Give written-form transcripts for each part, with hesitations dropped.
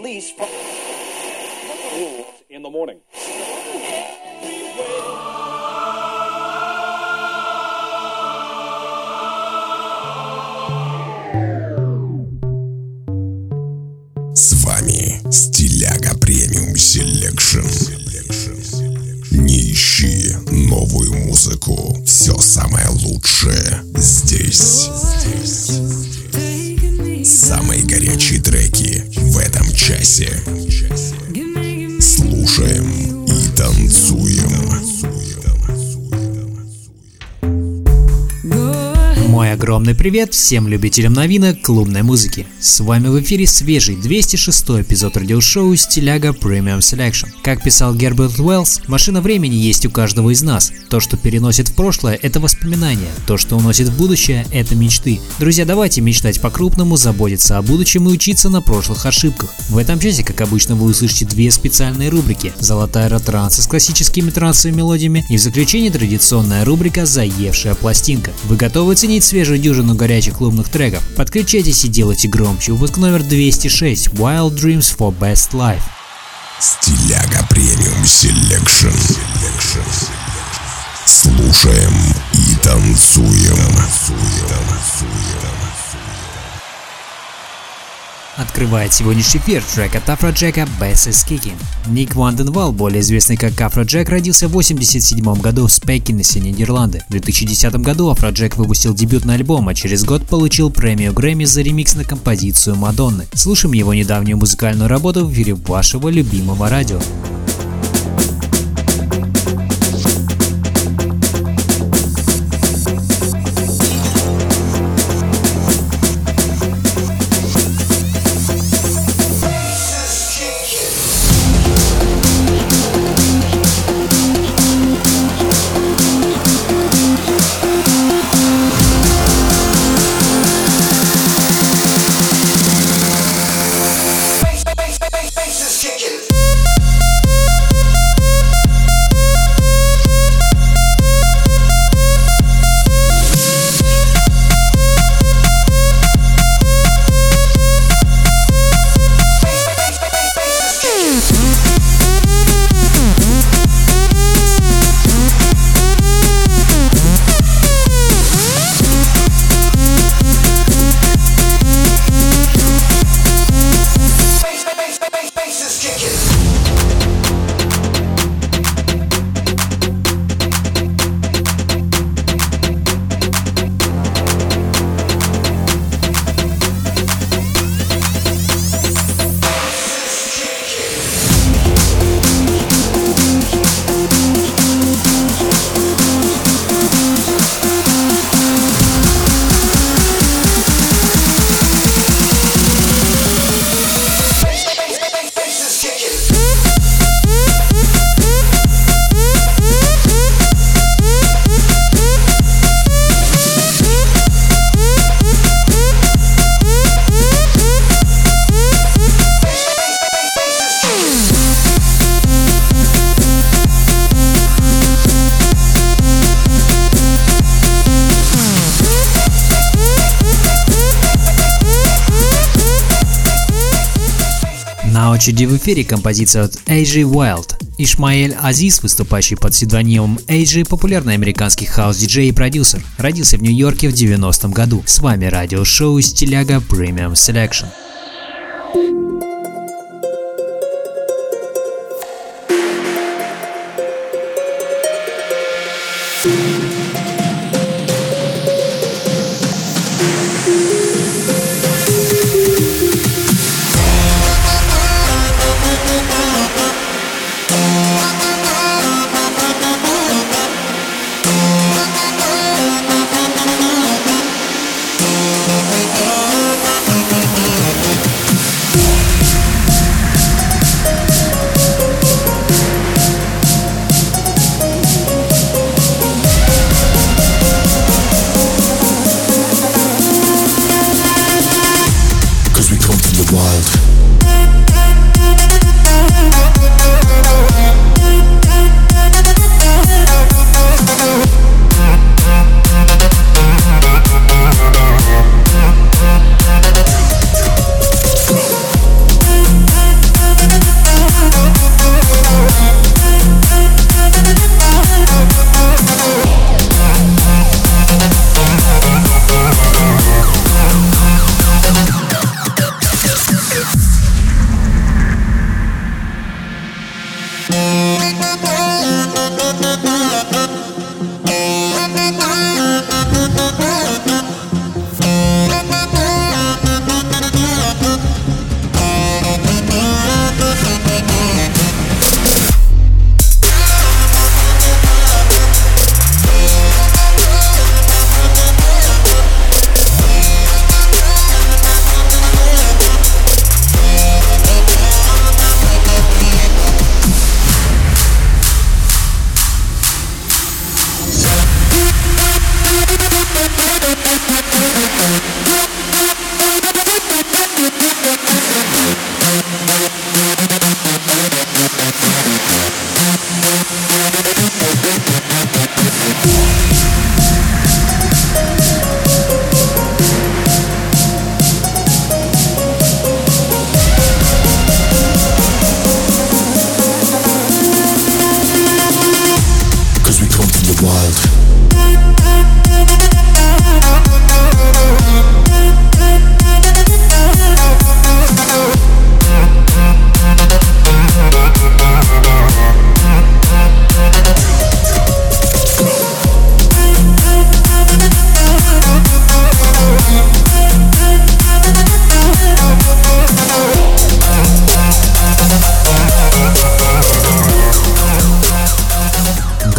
release from in the morning. С вами Стиляга Премиум Селекшн. Не ищи новую музыку. Все самое лучшее здесь. Самые горячие треки в этом часе. Слушаем и танцуем. Мой огромный привет всем любителям новинок клубной музыки. С вами в эфире свежий 206-й эпизод радиошоу «Стиляга Premium Selection». Как писал Герберт Уэллс, машина времени есть у каждого из нас. То, что переносит в прошлое, это воспоминания. То, что уносит в будущее, это мечты. Друзья, давайте мечтать по-крупному, заботиться о будущем и учиться на прошлых ошибках. В этом часе, как обычно, вы услышите две специальные рубрики: «Золотая эра транса» с классическими трансовыми мелодиями и в заключение традиционная рубрика «Заевшая пластинка». Вы готовы ценить свежую дюжину горячих клубных треков? Подключайтесь и делайте громче. Выпуск номер 206. Wild Dreams for Best Life. Стиляга Премиум Селекшн. Слушаем и танцуем. Открывает сегодняшний эфир трек от Afrojack «Bass is Kicking». Ник Ванденвал, более известный как Afrojack, родился в 1987 году в Спекинесе, Нидерланды. В 2010 году Afrojack выпустил дебютный альбом, а через год получил премию Грэмми за ремикс на композицию Мадонны. Слушаем его недавнюю музыкальную работу в эфире вашего любимого радио. На очереди в эфире композиция от AJ Wild. Ишмаэль Азиз, выступающий под псевдонимом AJ, популярный американский хаус-диджей и продюсер, родился в Нью-Йорке в 90-м году. С вами радиошоу «Стиляга Premium Selection».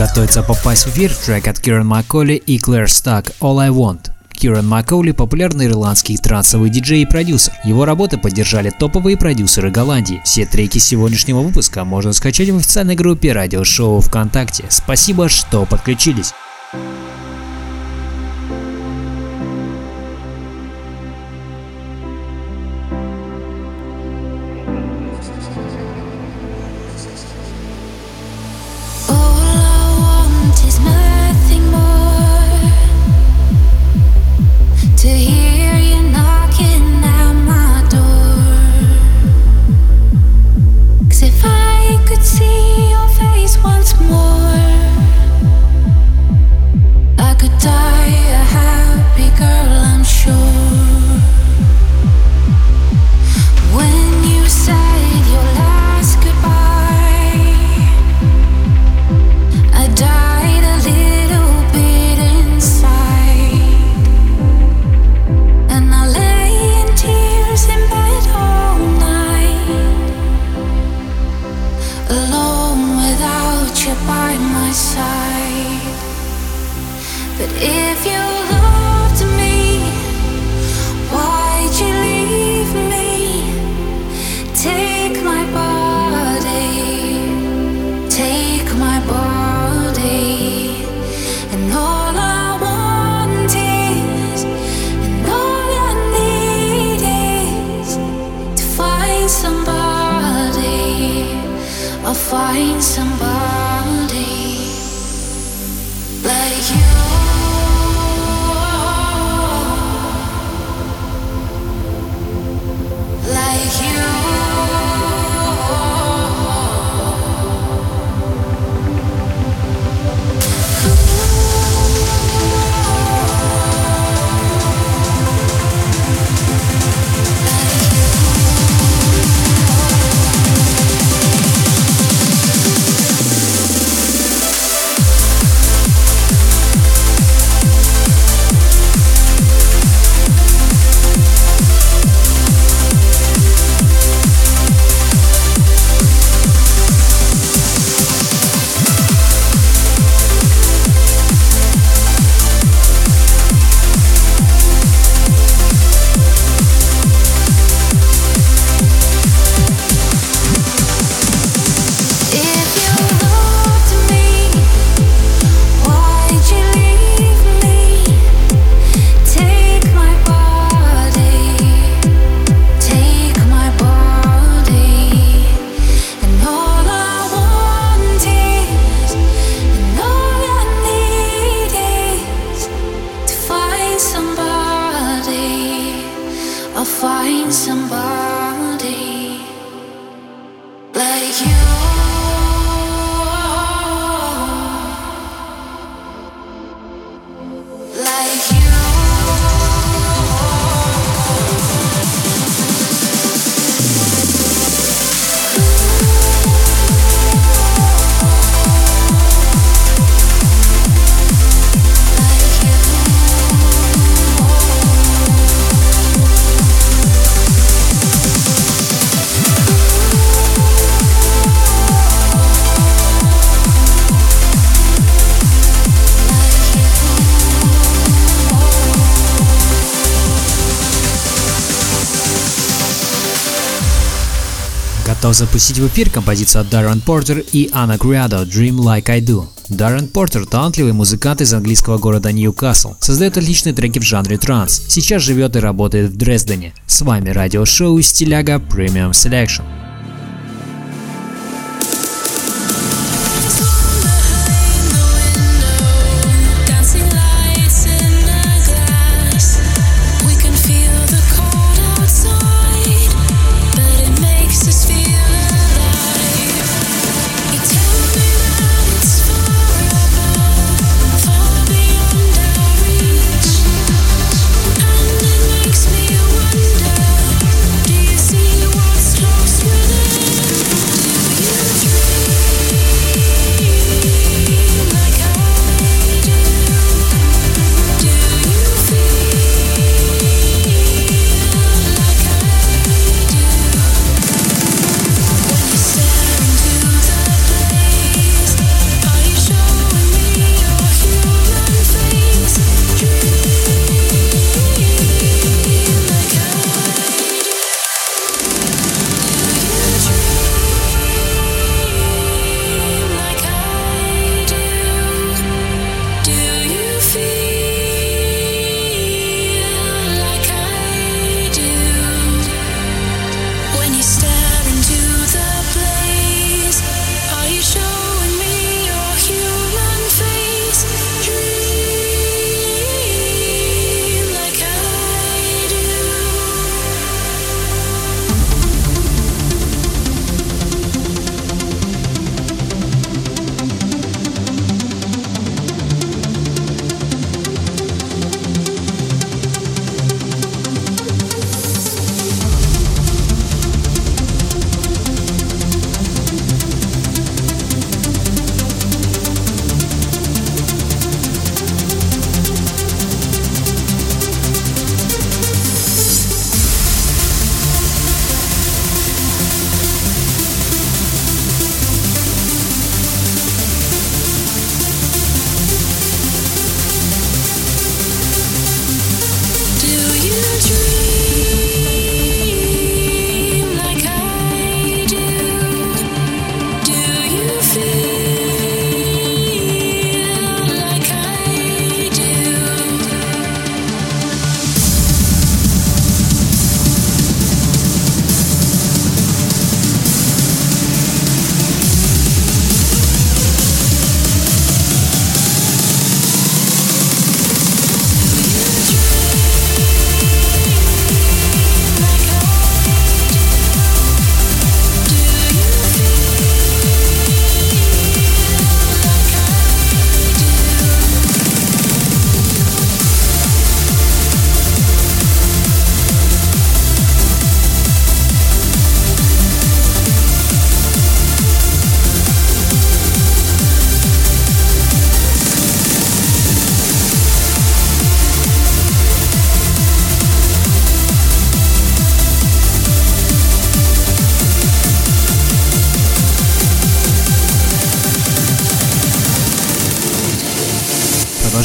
готовится попасть в эфир трек от Киран Макколи и Клэр Стак «All I Want». Киран Макколи – популярный ирландский трансовый диджей и продюсер. Его работы поддержали топовые продюсеры Голландии. Все треки сегодняшнего выпуска можно скачать в официальной группе радиошоу ВКонтакте. Спасибо, что подключились. Find somebody like you. Готов запустить в эфир композицию от Даррен Портер и Анна Criado «Dream Like I Do». Даррен Портер – талантливый музыкант из английского города Ньюкасл, создает отличные треки в жанре транс, сейчас живет и работает в Дрездене. С вами радиошоу «Стиляга Premium Selection». Makes me wonder, do you see what's close with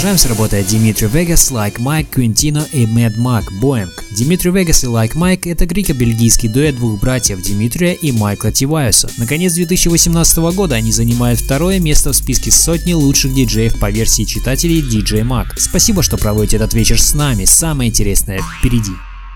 Продолжаем с работой Dimitri Vegas, Like Mike, Quintino и Mad Mac, Boeing. Dimitri Vegas и Like Mike — это греко-бельгийский дуэт двух братьев Димитрия и Майкла Тивайоса. Наконец 2018 года они занимают второе место в списке сотни лучших диджеев по версии читателей DJ Mag. Спасибо, что проводите этот вечер с нами, самое интересное впереди.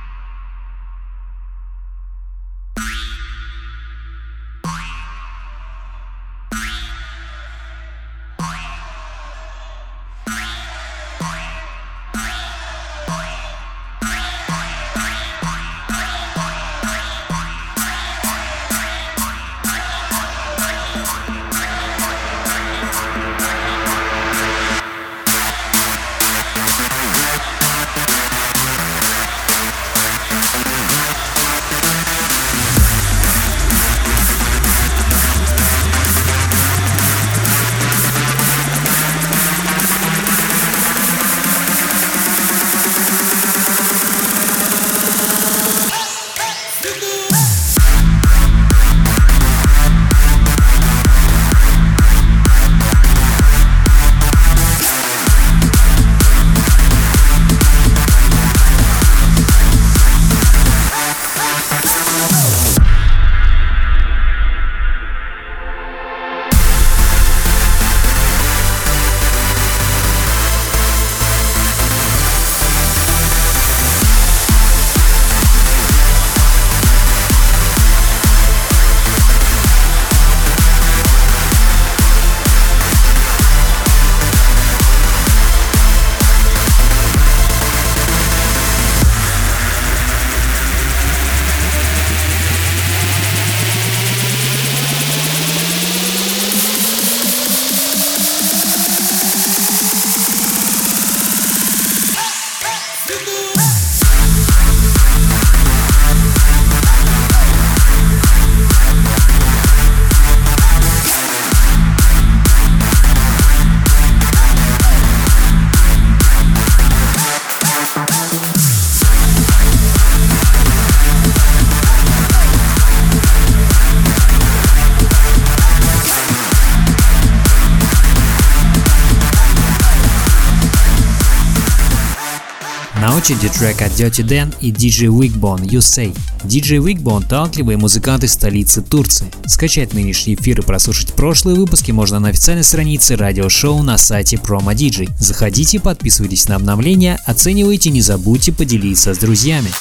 На очереди трек от Dirty Dan и DJ Wigbone You Say. DJ Wigbone – талантливые музыканты столицы Турции. Скачать нынешний эфир и прослушать прошлые выпуски можно на официальной странице радиошоу на сайте Promo DJ. Заходите, подписывайтесь на обновления, оценивайте, не забудьте поделиться с друзьями.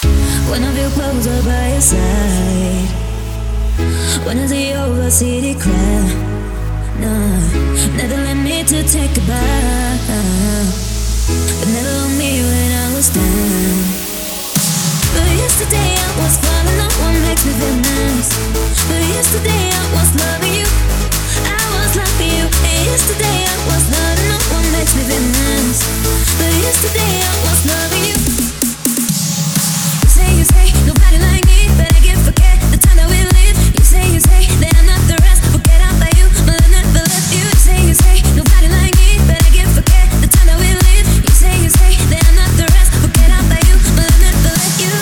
But never on me when I was down. But yesterday I was falling, no one makes me feel nice. But yesterday I was loving you, I was loving you. And yesterday I was loving, no one makes me feel nice. But yesterday I was loving you. You say, nobody like me, but I can't forget the time that we live. You say, that I'm not the rest, forget about you, but I never left you. You say, nobody like me, but I can't forget the time that we live. You say that I'm not the rest, forget about you, but I never let you.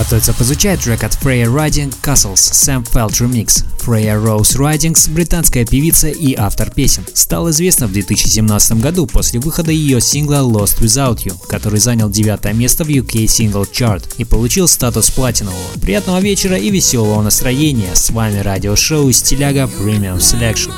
Готовится прозвучать трек от Freya Riding Castles Sam Felt Remix. Freya Rose Ridings, британская певица и автор песен, стала известна в 2017 году после выхода ее сингла Lost Without You, который занял 9 место в UK Single Chart и получил статус платинового. Приятного вечера и веселого настроения. С вами радиошоу Стиляга Premium Selection.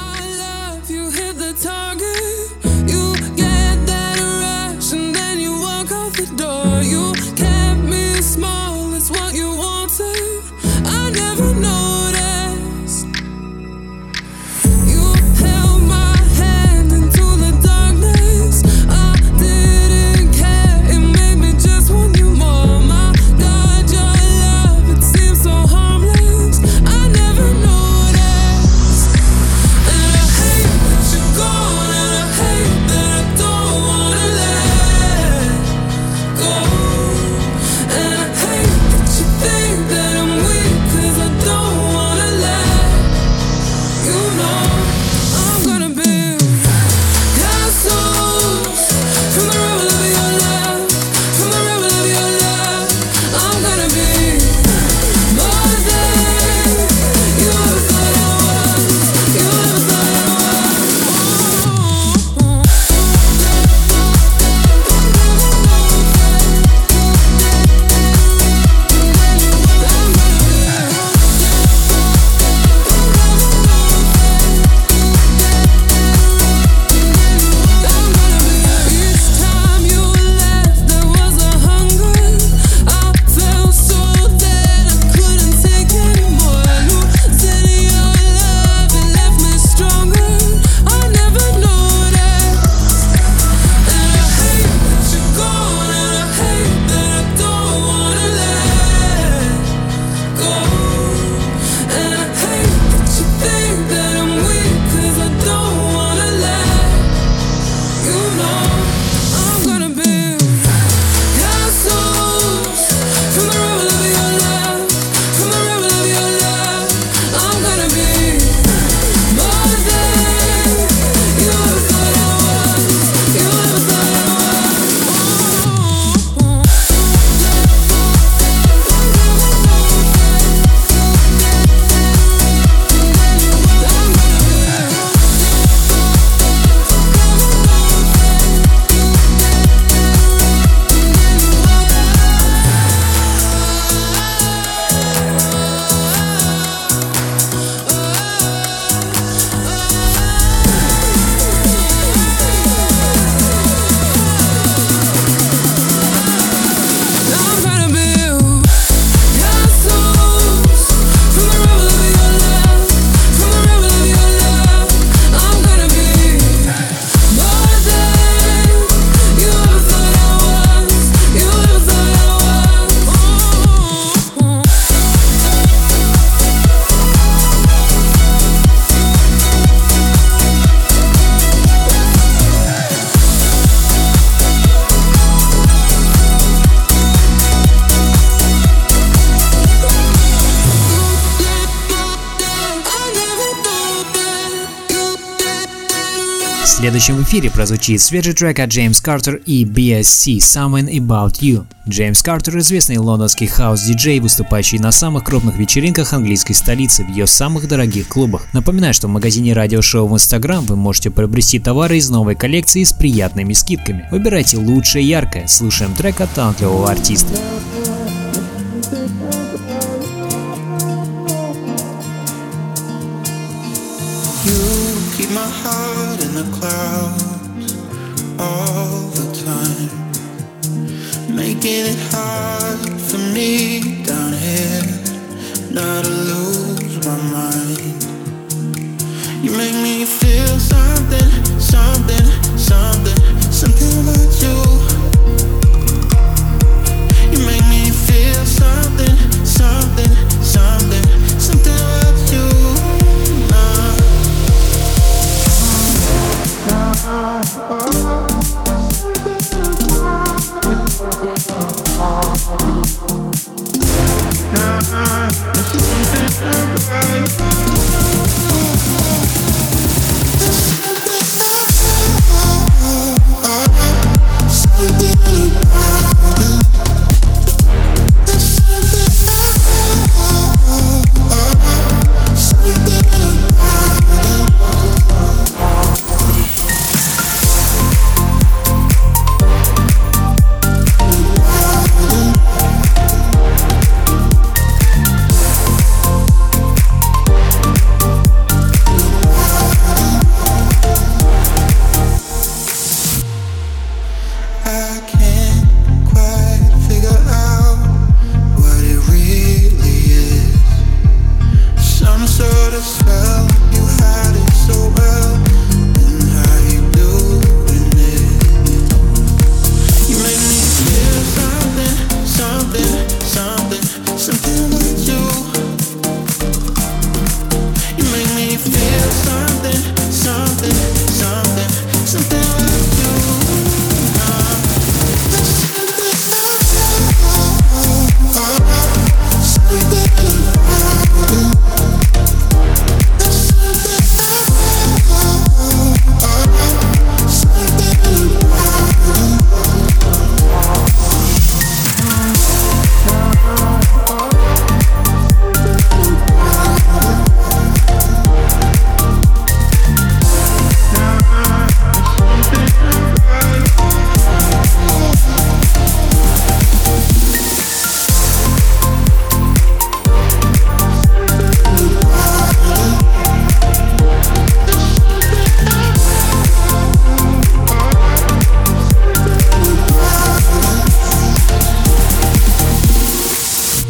В следующем эфире прозвучит свежий трек от Джеймс Картер и BSC «Something About You». Джеймс Картер – известный лондонский хаус-диджей, выступающий на самых крупных вечеринках английской столицы в ее самых дорогих клубах. Напоминаю, что в магазине радиошоу в Instagram вы можете приобрести товары из новой коллекции с приятными скидками. Выбирайте лучшее и яркое. Слушаем трек от талантливого артиста. Keep my heart in the clouds all the time, making it hard for me down here not to lose my mind. You make me feel something, something, something, something about you. You make me feel something, something, something, something about you.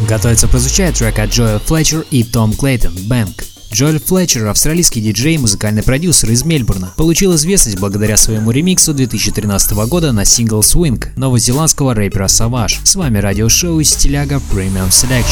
Готовится прозвучать трек от Джоэл Флетчер и Том Клейтон «Bank». Джоэл Флетчер – австралийский диджей и музыкальный продюсер из Мельбурна. Получил известность благодаря своему ремиксу 2013 года на сингл «Swing» новозеландского рэпера Savage. С вами радиошоу «Стиляга Premium Selection».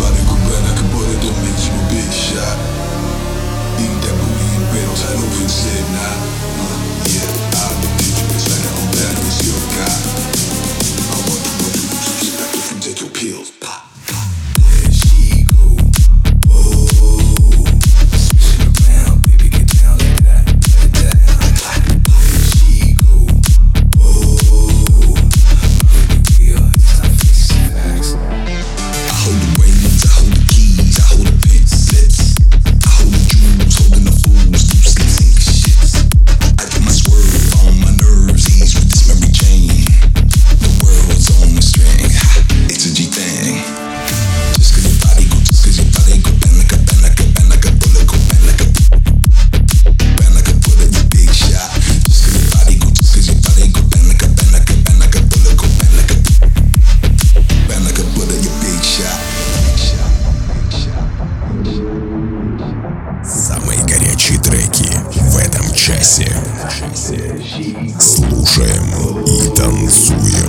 Слушаем и танцуем.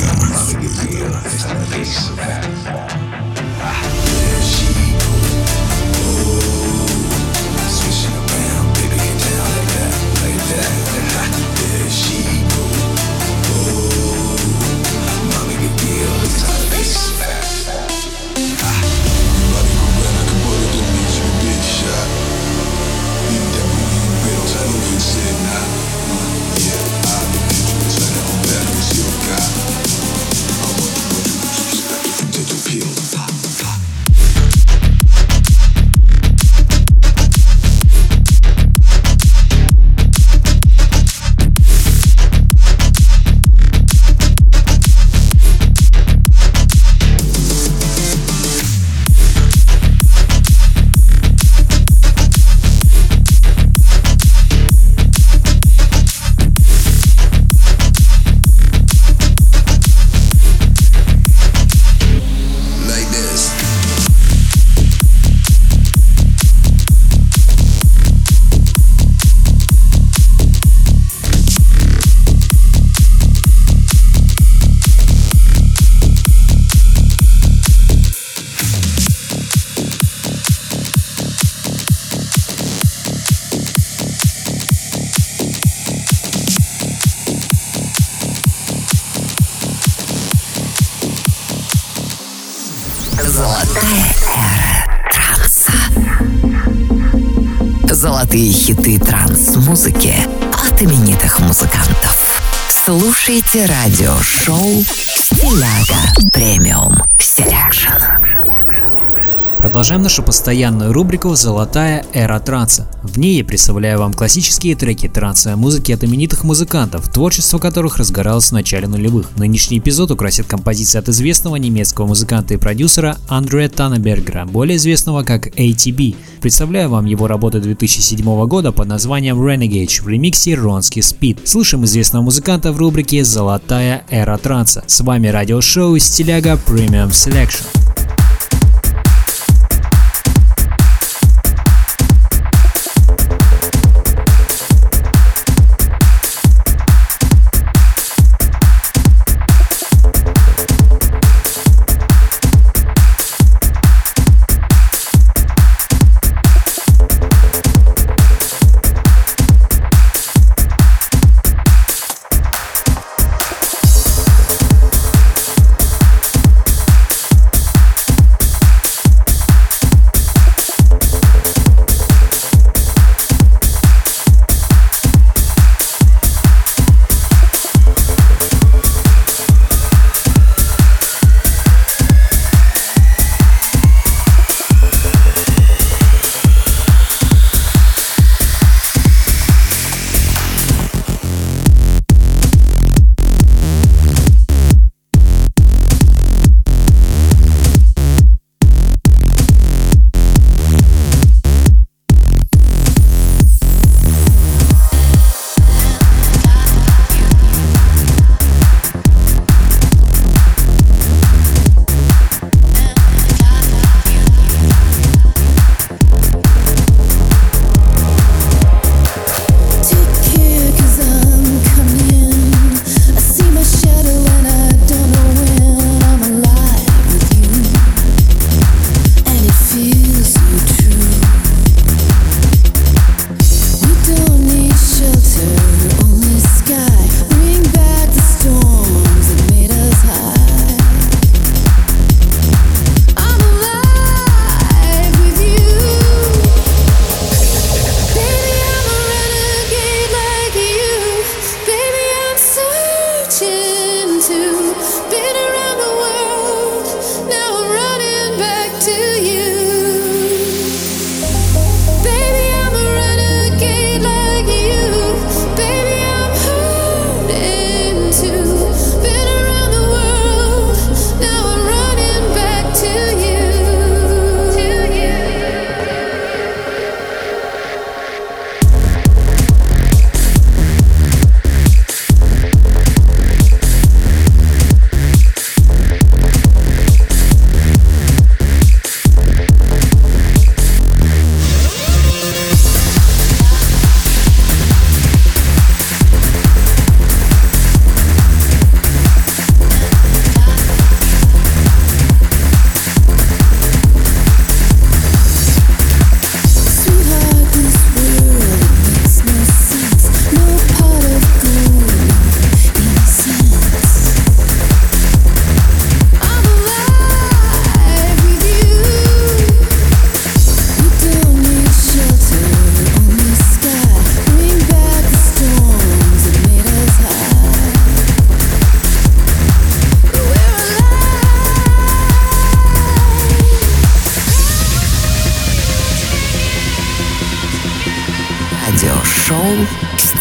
Золотые хиты транс-музыки от именитых музыкантов. Слушайте радиошоу «Стиляга Премиум Селекшн». Продолжаем нашу постоянную рубрику «Золотая эра транса». В ней я представляю вам классические треки трансовой музыки от именитых музыкантов, творчество которых разгоралось в начале нулевых. Нынешний эпизод украсит композиция от известного немецкого музыканта и продюсера Андрея Таннебергера, более известного как ATB. Представляю вам его работу 2007 года под названием Renegade в ремиксе Ronski Speed. Слышим известного музыканта в рубрике «Золотая эра транса». С вами радиошоу «Стиляга Premium Selection».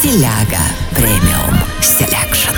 Стиляга Премиум Селекшн.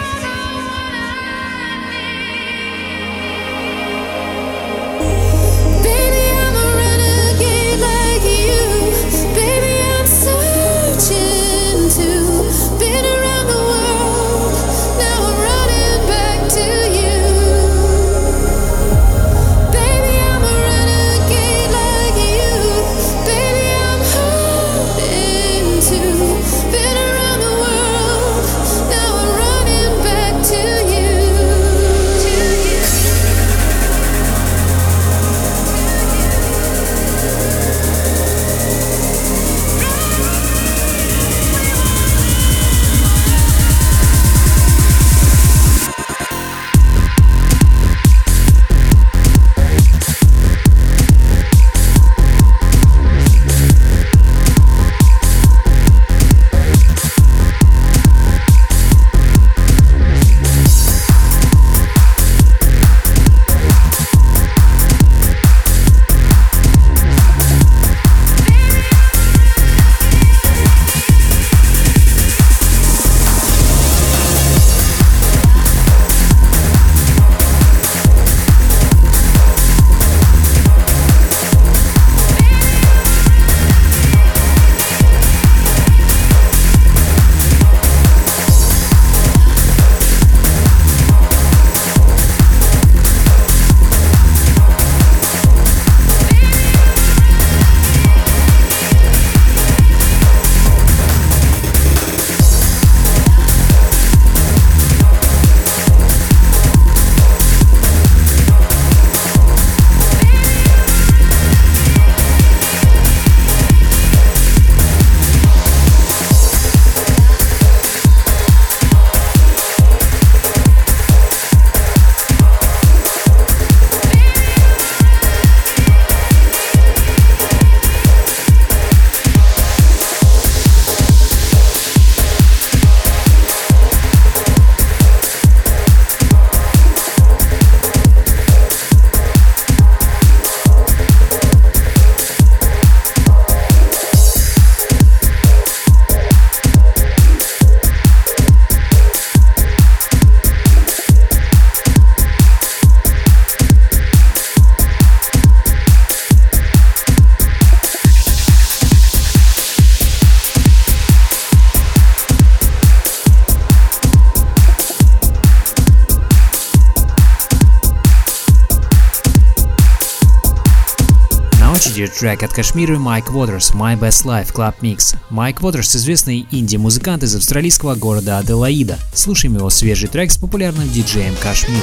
Трек от Кашмира Майк Уотерс My Best Life Club Mix. Майк Уотерс — известный инди-музыкант из австралийского города Аделаида. Слушаем его свежий трек с популярным диджеем Кашмир.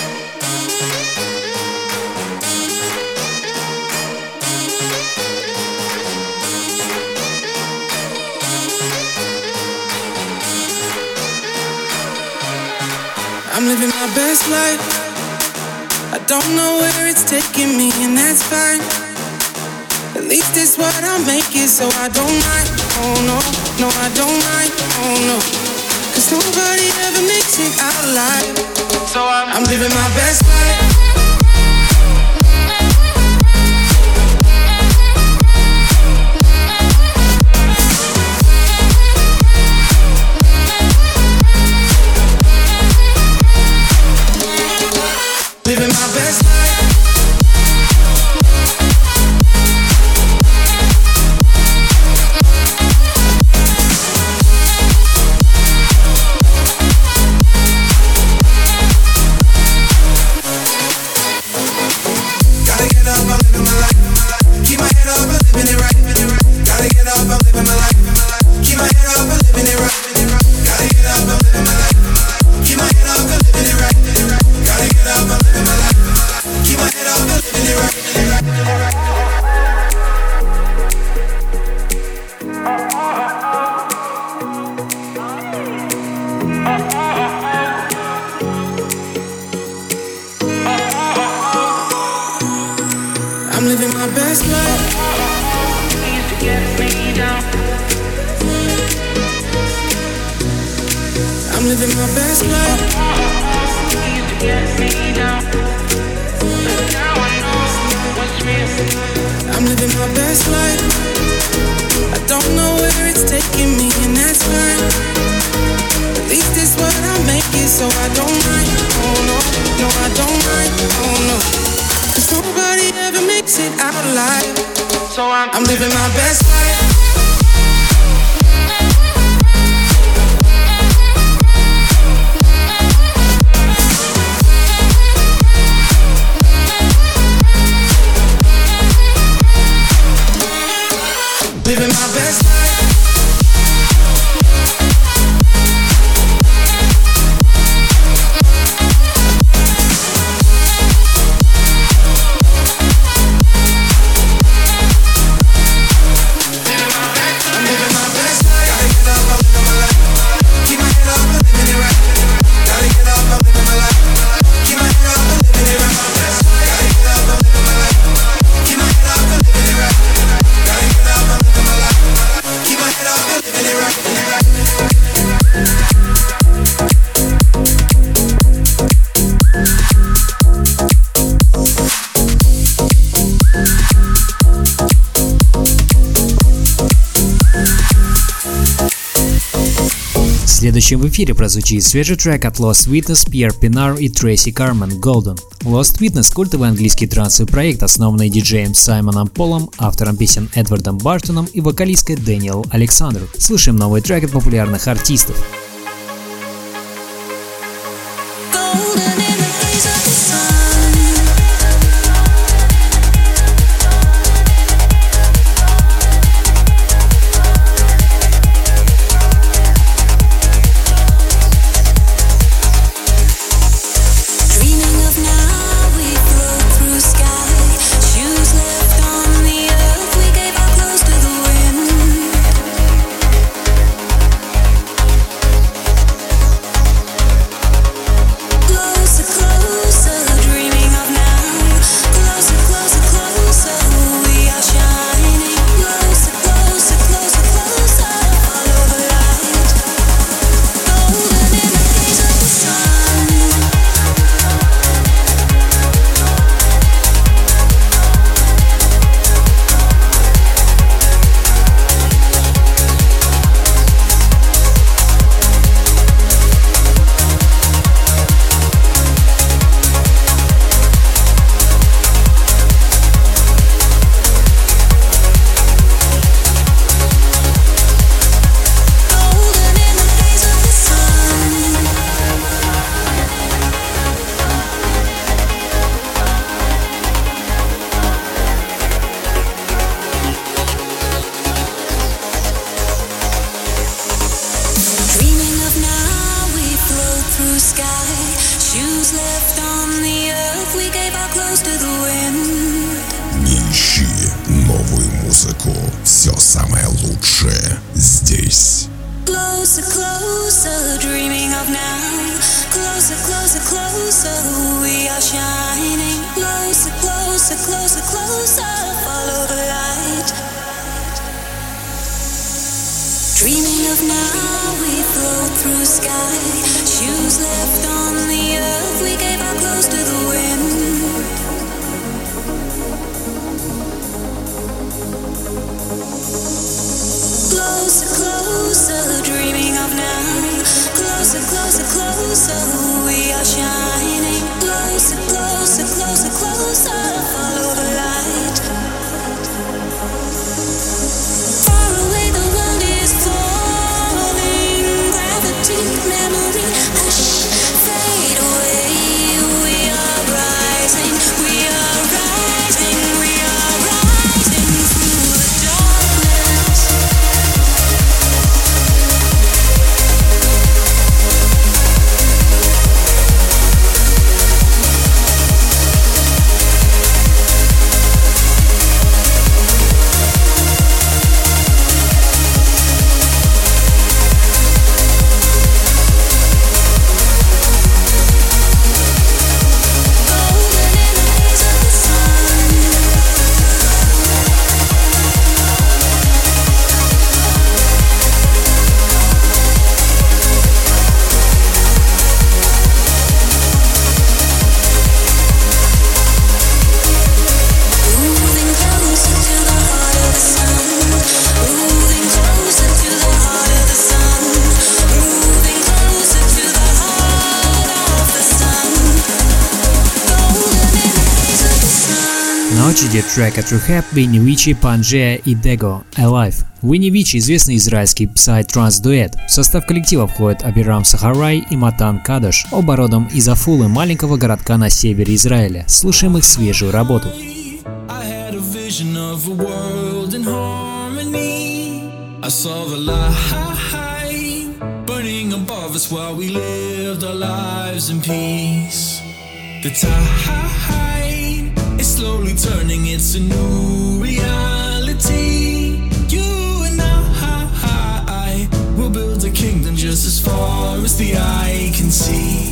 I'm living my best life. I don't know where it's taking me, and that's fine. At least it's what I'm making, so I don't mind. Oh no, no I don't mind. Oh no, 'cause nobody ever makes it out alive. So I'm living my best life. Living my best life. Gotta get up, I'm living my life. Keep my head up, I'm living it right. Gotta get up, I'm living my life. Keep my head up, I'm living it right. Gotta get up, I'm living my life. Keep my head up, I'm living it right. Gotta get up, I'm living my life. Keep my head up, I'm living it right. I'm living my best life. Used to get me down. I'm living my best life. Used to get me down. But now I know what's real. I'm living my best life. I don't know where it's taking me, and that's fine. so I don't mind. Oh no, no, I don't mind. Oh no, 'cause nobody ever makes it out alive. So I'm living my best life. Living my best life. Следующим в эфире прозвучит свежий трек от Lost Witness, Пьер Пинар и Трейси Кармен «Golden». Lost Witness – культовый английский трансовый проект, основанный диджеем Саймоном Полом, автором песен Эдвардом Бартоном и вокалисткой Дэниел Александру. Слушаем новый трек от популярных артистов. Не ищи новую музыку. Все самое лучшее здесь. Closer, closer, dreaming of now. Closer, closer, closer, we are shining. Closer, closer, closer, closer, follow the light. Dreaming of now, we float through sky. Shoes left on the earth, we gave our clothes to the wind. Closer, closer, dreaming of now. Closer, closer, closer, we are shining. Closer, closer, closer, closer, follow the light. Far away the world is falling. Gravity, memory, hush, fade away. We are rising, we are rising, we are rising through the darkness. На очереди трек от Rehab, Винни Вичи, Панжея и Дего Alive. Винни Вичи – известный израильский псай-транс-дуэт. В состав коллектива входят Абирам Сахарай и Матан Кадош, оба родом из Афулы, маленького городка на севере Израиля. Слушаем их свежую работу. I saw the light burning above us while we lived our lives in peace. The tide is slowly turning, it's a new reality. You and I will build a kingdom just as far as the eye can see.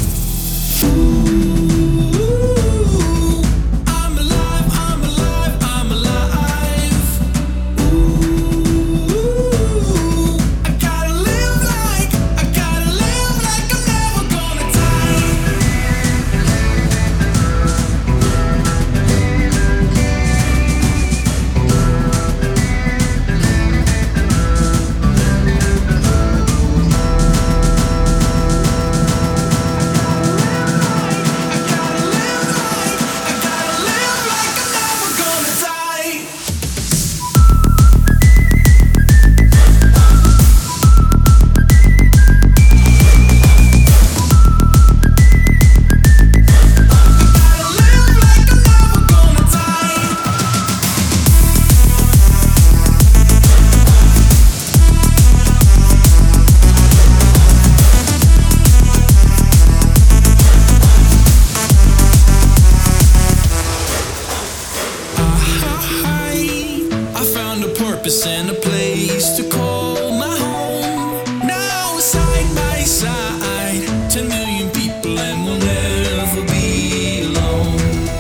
And a place to call my home. Now side by side, 10 million people and we'll never be alone.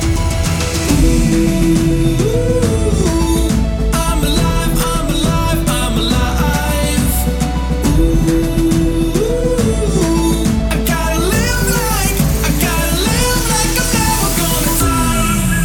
Ooh, I'm alive, I'm alive, I'm alive. Ooh, I gotta live like I'm never gonna die.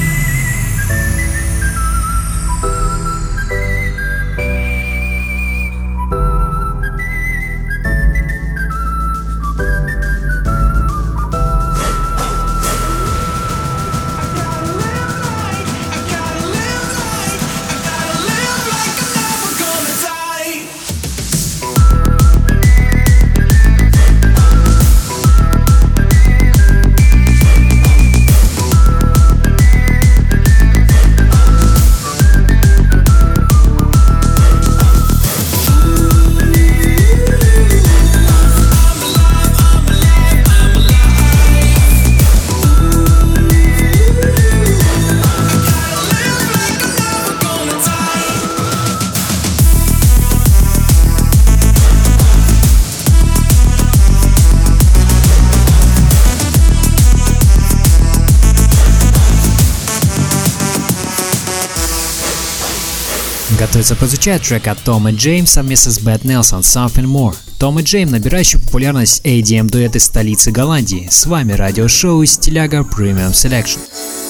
Готовится прозвучать трек от Том и Джейм совместно с Бэт Нельсон «Something More». Том и Джейм, набирающий популярность EDM-дуэт из столицы Голландии. С вами радиошоу Стиляга Premium Selection.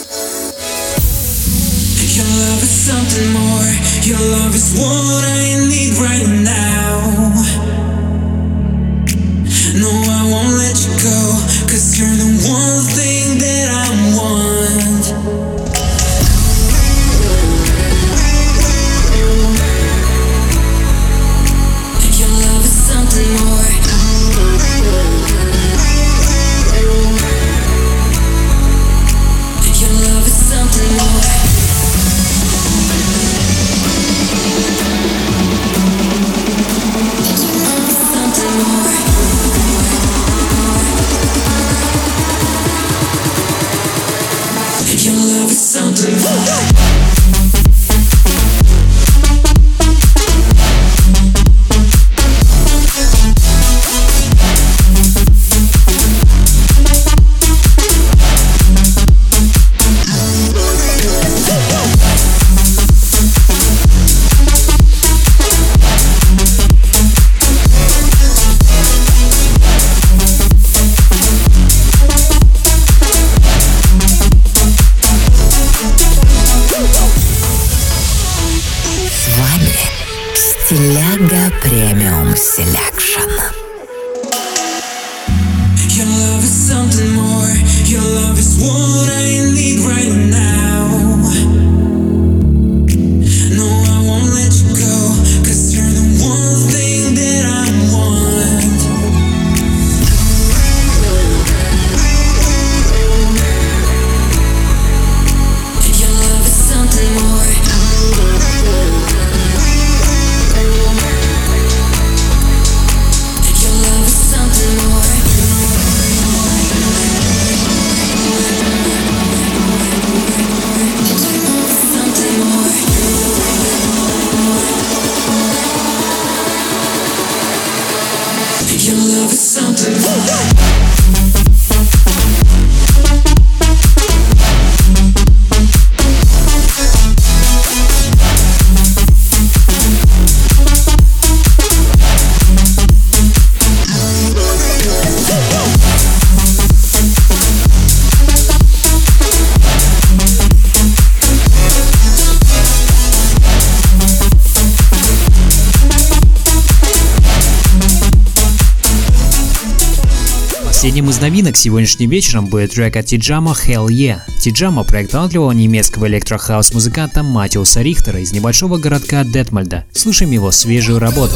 Your love is something more. Your love is what I need right now. No, I won't let you go, 'cause you're the one thing that I want. Something more. Your love is something more. Something more. Your love is something more. Стиляга Premium Selection. Your love is something more. Your love is what I need right now. Последним из новинок сегодняшним вечером будет трек от Тиджама «Hell Yeah». Тиджама – проект талантливого немецкого электрохаус-музыканта Матиуса Рихтера из небольшого городка Детмольда. Слушаем его свежую работу.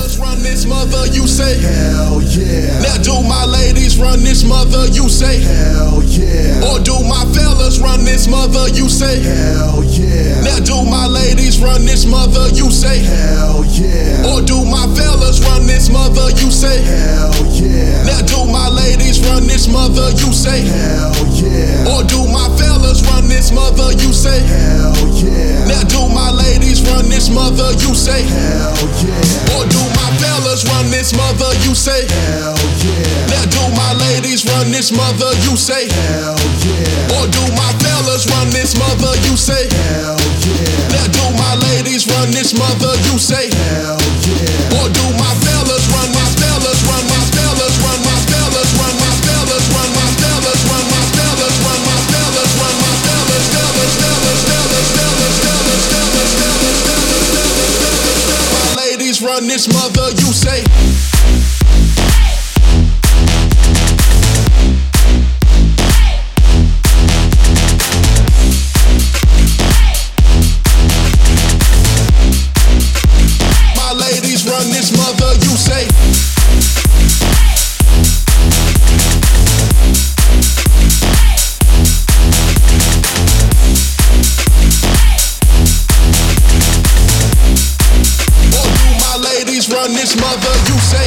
Run this mother, you say hell yeah. Or do my fellas run this mother, you say hell yeah. Now do my ladies run this mother, you say hell yeah. Or do my fellas run this mother, you say hell yeah. Now do my ladies run this mother, you say hell yeah. Or do my fellas run this mother, you say hell yeah. Now do my ladies run this mother, you say hell yeah. Or do my fellas run my fellas run my fellas run my fellas run my fellas run my fellas run my fellas run my fellas run my fellas fellas fellas fellas fellas fellas fellas fellas fellas. My ladies run this mother, you say. My ladies run this mother, you say. Run this mother, you say.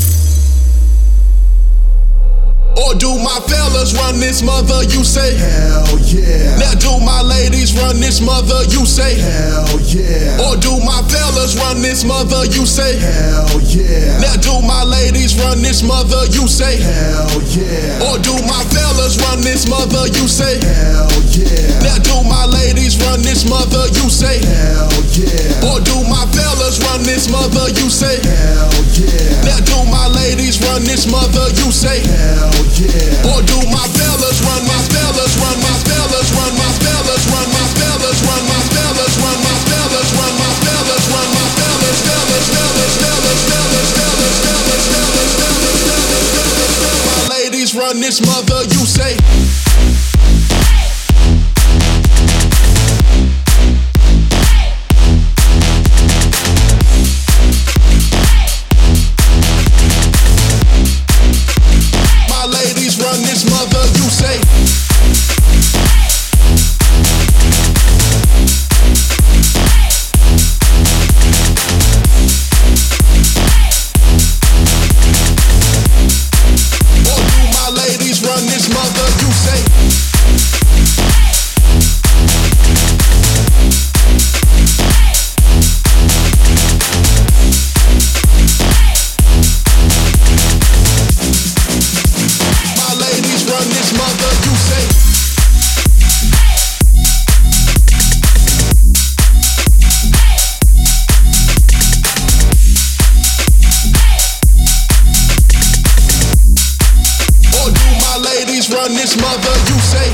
Or do my fellas run this mother, you say. Hell yeah. Now do my ladies run this mother, you say. Hell yeah. Or do my fellas run this mother, you say. Hell yeah. Now do my ladies run this mother, you say. Hell yeah. Or do my fellas run this mother, you say. Hell yeah. Now do my ladies run this mother, you say. Hell yeah. Or do my fellas run this mother, you say. Hell yeah. Now do my ladies run this mother, you say. Hell yeah. Or do my fellas run my fellas run my fellas run my fellas run my fellas run my fellas run my fellas run my fellas run my fellas fellas fellas fellas fellas fellas fellas fellas fellas. My ladies run this mother, you say. Run this mother, you say. Or do my ladies run this mother, you say. Run this mother, you say. Or do my ladies run this mother, you say.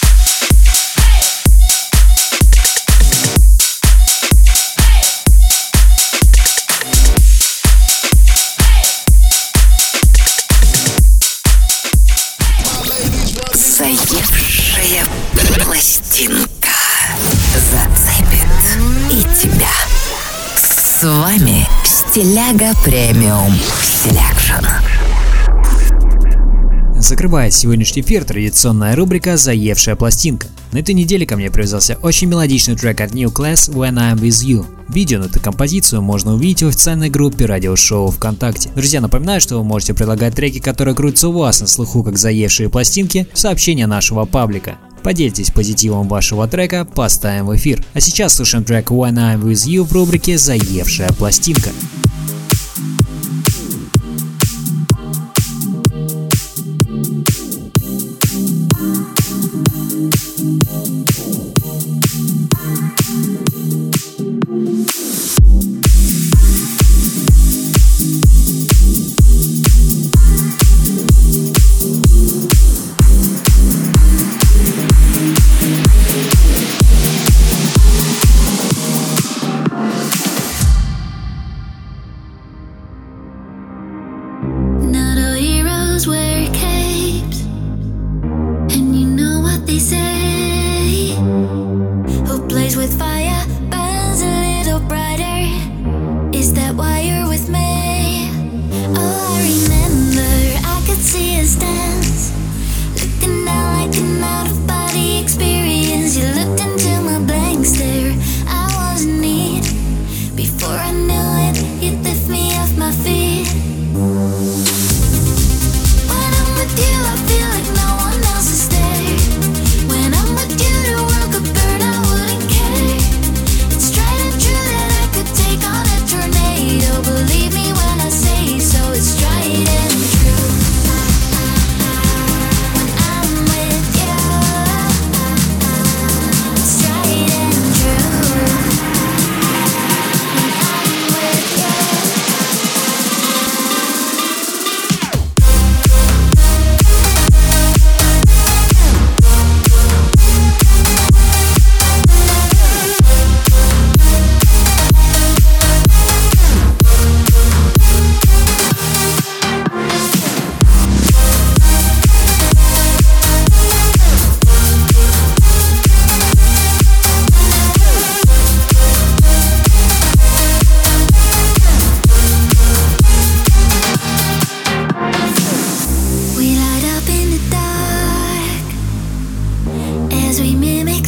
Заевшая пластинка зацепит и тебя. С вами Стиляга Премиум Селекшн. Закрывает сегодняшний эфир традиционная рубрика «Заевшая пластинка». На этой неделе ко мне привязался очень мелодичный трек от New Class «When I'm With You». Видео на эту композицию можно увидеть в официальной группе радиошоу ВКонтакте. Друзья, напоминаю, что вы можете предлагать треки, которые крутятся у вас на слуху как заевшие пластинки, в сообщения нашего паблика. Поделитесь позитивом вашего трека, поставим в эфир. А сейчас слушаем трек «When I'm With You» в рубрике «Заевшая пластинка».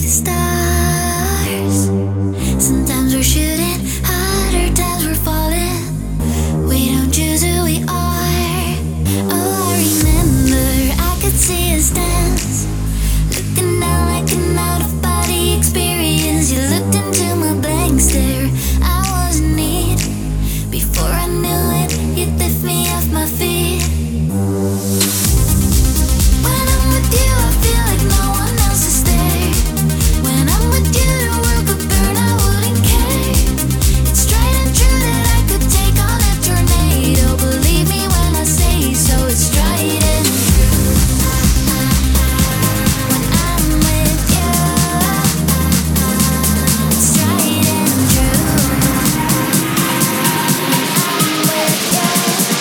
stars. Sometimes we're shooting, other times we're falling. We don't choose who we are. Oh, I remember I could see us dance, looking down like an out-of-body experience. You looked into my blank stare. I was in need. Before I knew it, you lift me off my feet. When I'm with you, I feel like no one else is there. When I'm with you, the world could burn, I wouldn't care. It's tried and true that I could take on a tornado. Believe me when I say so, it's tried and true. When I'm with you, it's tried and true. When I'm with you.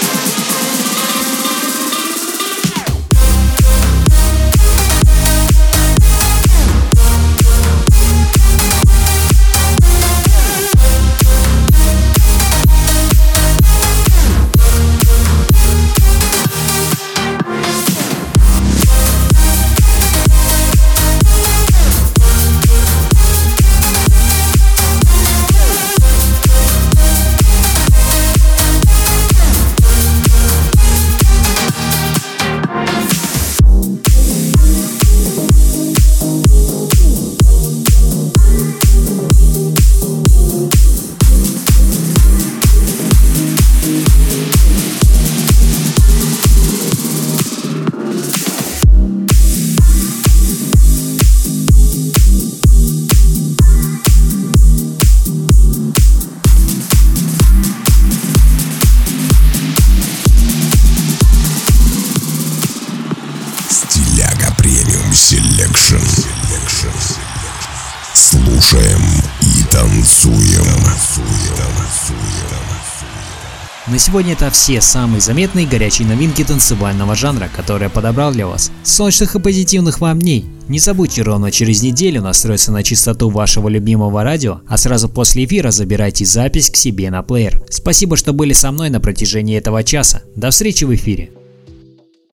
Стиляга премиум селекшн. Слушаем и танцуем. На сегодня это все самые заметные горячие новинки танцевального жанра, которые я подобрал для вас. Солнечных и позитивных вам дней! Не забудьте ровно через неделю настроиться на частоту вашего любимого радио, а сразу после эфира забирайте запись к себе на плеер. Спасибо, что были со мной на протяжении этого часа. До встречи в эфире!